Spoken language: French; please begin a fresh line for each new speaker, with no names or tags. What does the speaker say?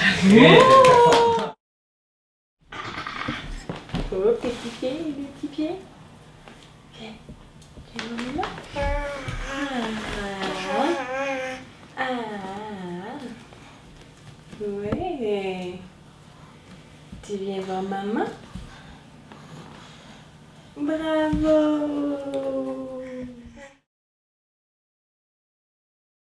Oh, petit pied, le petit pied. Viens, viens, maman. Ouais. Tu viens voir maman? Bravo.